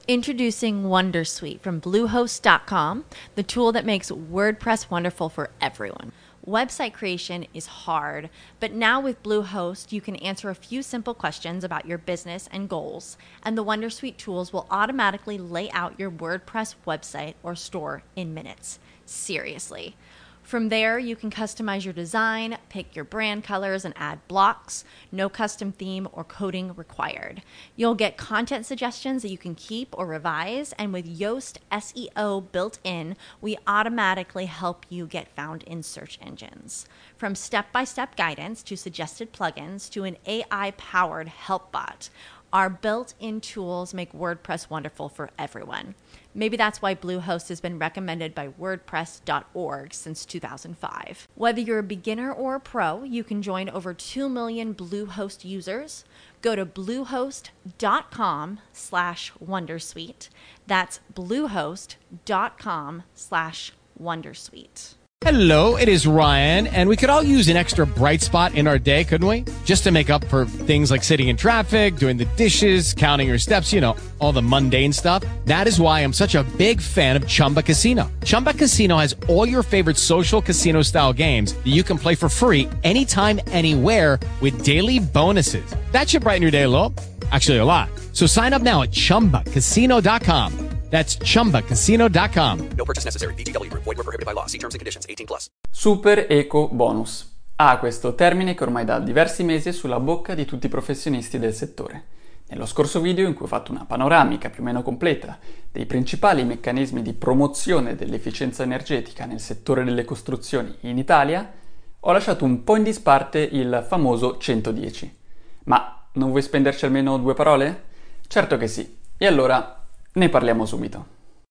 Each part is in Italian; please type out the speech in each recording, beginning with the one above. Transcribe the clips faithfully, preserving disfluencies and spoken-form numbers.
Introducing Wondersuite from Bluehost dot com, the tool that makes WordPress wonderful for everyone. Website creation is hard, but now with Bluehost, you can answer a few simple questions about your business and goals, and the Wondersuite tools will automatically lay out your WordPress website or store in minutes. Seriously. From there, you can customize your design, pick your brand colors, and add blocks. No custom theme or coding required. You'll get content suggestions that you can keep or revise, and with Yoast S E O built in, we automatically help you get found in search engines. From step-by-step guidance to suggested plugins to an A I-powered help bot, our built-in tools make WordPress wonderful for everyone. Maybe that's why Bluehost has been recommended by WordPress dot org since two thousand five. Whether you're a beginner or a pro, you can join over two million Bluehost users. Go to bluehost dot com slash wondersuite. That's bluehost dot com slash wondersuite. Hello, it is Ryan, and we could all use an extra bright spot in our day, couldn't we? Just to make up for things like sitting in traffic, doing the dishes, counting your steps, you know, all the mundane stuff. That is why I'm such a big fan of Chumba Casino. Chumba Casino has all your favorite social casino-style games that you can play for free anytime, anywhere with daily bonuses. That should brighten your day a little. Actually, a lot. So sign up now at chumba casino dot com. That's chumba casino dot com. No purchase necessary. V G W Group. Void where prohibited by law. See terms and conditions. eighteen plus. Super Eco Bonus. Ah, questo termine che ormai da diversi mesi è sulla bocca di tutti i professionisti del settore. Nello scorso video, in cui ho fatto una panoramica più o meno completa dei principali meccanismi di promozione dell'efficienza energetica nel settore delle costruzioni in Italia, ho lasciato un po' in disparte il famoso centodieci. Ma non vuoi spenderci almeno due parole? Certo che sì. E allora ne parliamo subito.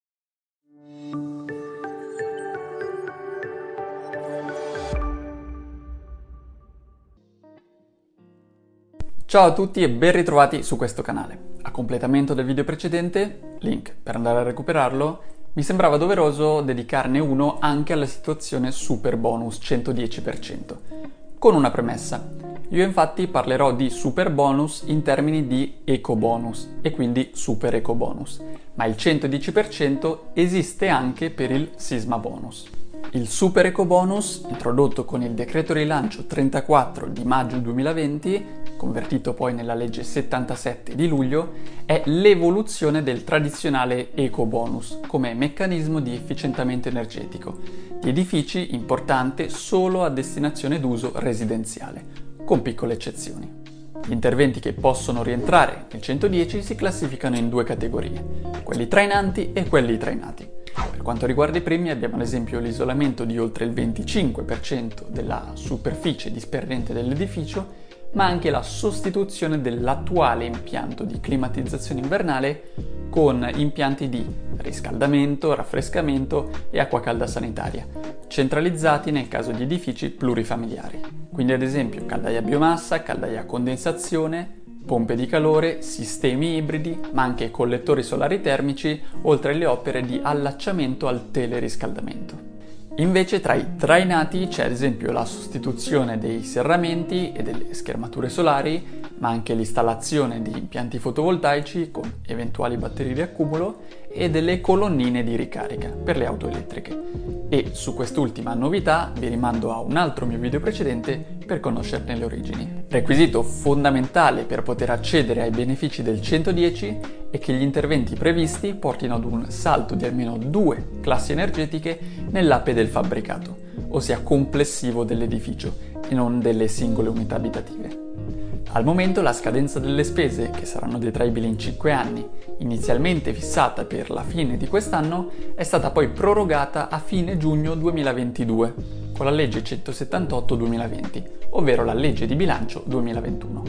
Ciao a tutti e ben ritrovati su questo canale. A completamento del video precedente, link per andare a recuperarlo, mi sembrava doveroso dedicarne uno anche alla situazione super bonus centodieci per cento, con una premessa. Io infatti parlerò di super bonus in termini di eco bonus e quindi super eco bonus, ma il centodieci per cento esiste anche per il sisma bonus. Il super eco bonus, introdotto con il decreto rilancio trentaquattro di maggio duemilaventi, convertito poi nella legge settantasette di luglio, è l'evoluzione del tradizionale eco bonus come meccanismo di efficientamento energetico di edifici importante solo a destinazione d'uso residenziale, con piccole eccezioni. Gli interventi che possono rientrare nel centodieci si classificano in due categorie, quelli trainanti e quelli trainati. Per quanto riguarda i primi abbiamo ad esempio l'isolamento di oltre il venticinque per cento della superficie disperdente dell'edificio, ma anche la sostituzione dell'attuale impianto di climatizzazione invernale con impianti di riscaldamento, raffrescamento e acqua calda sanitaria, centralizzati nel caso di edifici plurifamiliari. Quindi ad esempio caldaia a biomassa, caldaia a condensazione, pompe di calore, sistemi ibridi, ma anche collettori solari termici, oltre alle opere di allacciamento al teleriscaldamento. Invece tra i trainati c'è ad esempio la sostituzione dei serramenti e delle schermature solari, ma anche l'installazione di impianti fotovoltaici con eventuali batterie di accumulo e delle colonnine di ricarica per le auto elettriche. E su quest'ultima novità vi rimando a un altro mio video precedente per conoscerne le origini. Requisito fondamentale per poter accedere ai benefici del centodieci è che gli interventi previsti portino ad un salto di almeno due classi energetiche nell'A P E del fabbricato, ossia complessivo dell'edificio e non delle singole unità abitative. Al momento la scadenza delle spese, che saranno detraibili in cinque anni, inizialmente fissata per la fine di quest'anno, è stata poi prorogata a fine giugno duemilaventidue, con la legge centosettantotto duemilaventi, ovvero la legge di bilancio duemilaventuno.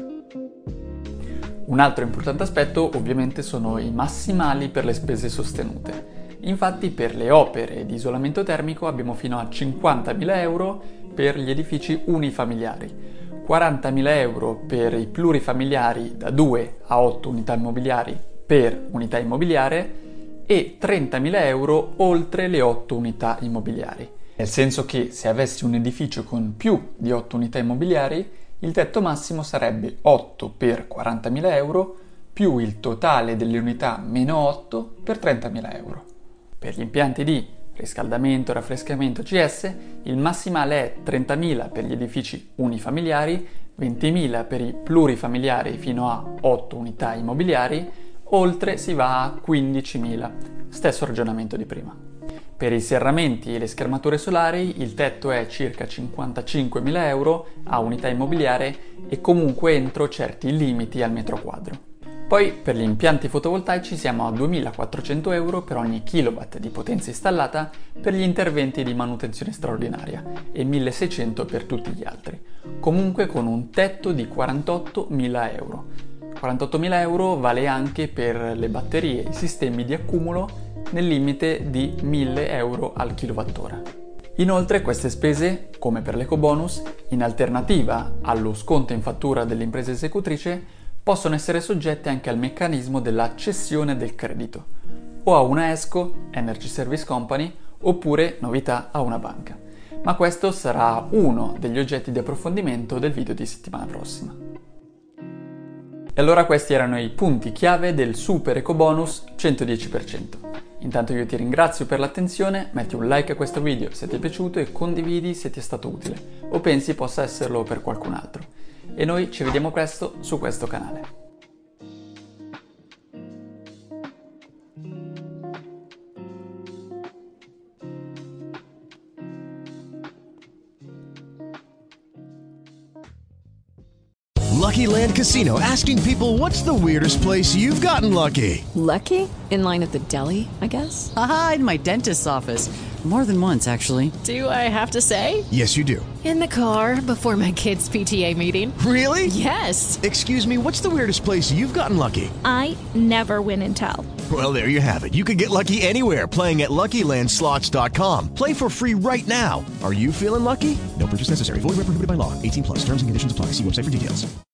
Un altro importante aspetto ovviamente sono i massimali per le spese sostenute. Infatti per le opere di isolamento termico abbiamo fino a cinquantamila euro per gli edifici unifamiliari, quarantamila euro per i plurifamiliari da due a otto unità immobiliari per unità immobiliare e trentamila euro oltre le otto unità immobiliari. Nel senso che se avessi un edificio con più di otto unità immobiliari, il tetto massimo sarebbe otto per quarantamila euro più il totale delle unità meno otto per trentamila euro. Per gli impianti di riscaldamento, raffrescamento C S, il massimale è trentamila per gli edifici unifamiliari, ventimila per i plurifamiliari fino a otto unità immobiliari, oltre si va a quindicimila, stesso ragionamento di prima. Per i serramenti e le schermature solari il tetto è circa cinquantacinquemila euro a unità immobiliare e comunque entro certi limiti al metro quadro. Poi per gli impianti fotovoltaici siamo a duemilaquattrocento euro per ogni kilowatt di potenza installata per gli interventi di manutenzione straordinaria e milleseicento per tutti gli altri, comunque con un tetto di quarantottomila euro. quarantottomila euro vale anche per le batterie e i sistemi di accumulo nel limite di mille euro al kilowattora. Inoltre queste spese, come per l'ecobonus, in alternativa allo sconto in fattura dell'impresa esecutrice, possono essere soggette anche al meccanismo della cessione del credito, o a una ESCO, Energy Service Company, oppure, novità, a una banca. Ma questo sarà uno degli oggetti di approfondimento del video di settimana prossima. E allora questi erano i punti chiave del super ecobonus centodieci per cento. Intanto io ti ringrazio per l'attenzione, metti un like a questo video se ti è piaciuto e condividi se ti è stato utile o pensi possa esserlo per qualcun altro. E noi ci vediamo presto su questo canale. Lucky Land Casino, asking people, what's the weirdest place you've gotten lucky? Lucky? In line at the deli, I guess? Aha, in my dentist's office. More than once, actually. Do I have to say? Yes, you do. In the car before my kids' P T A meeting. Really? Yes. Excuse me, what's the weirdest place you've gotten lucky? I never win and tell. Well, there you have it. You can get lucky anywhere, playing at Lucky Land Slots dot com. Play for free right now. Are you feeling lucky? No purchase necessary. Void where prohibited by law. eighteen plus. Terms and conditions apply. See website for details.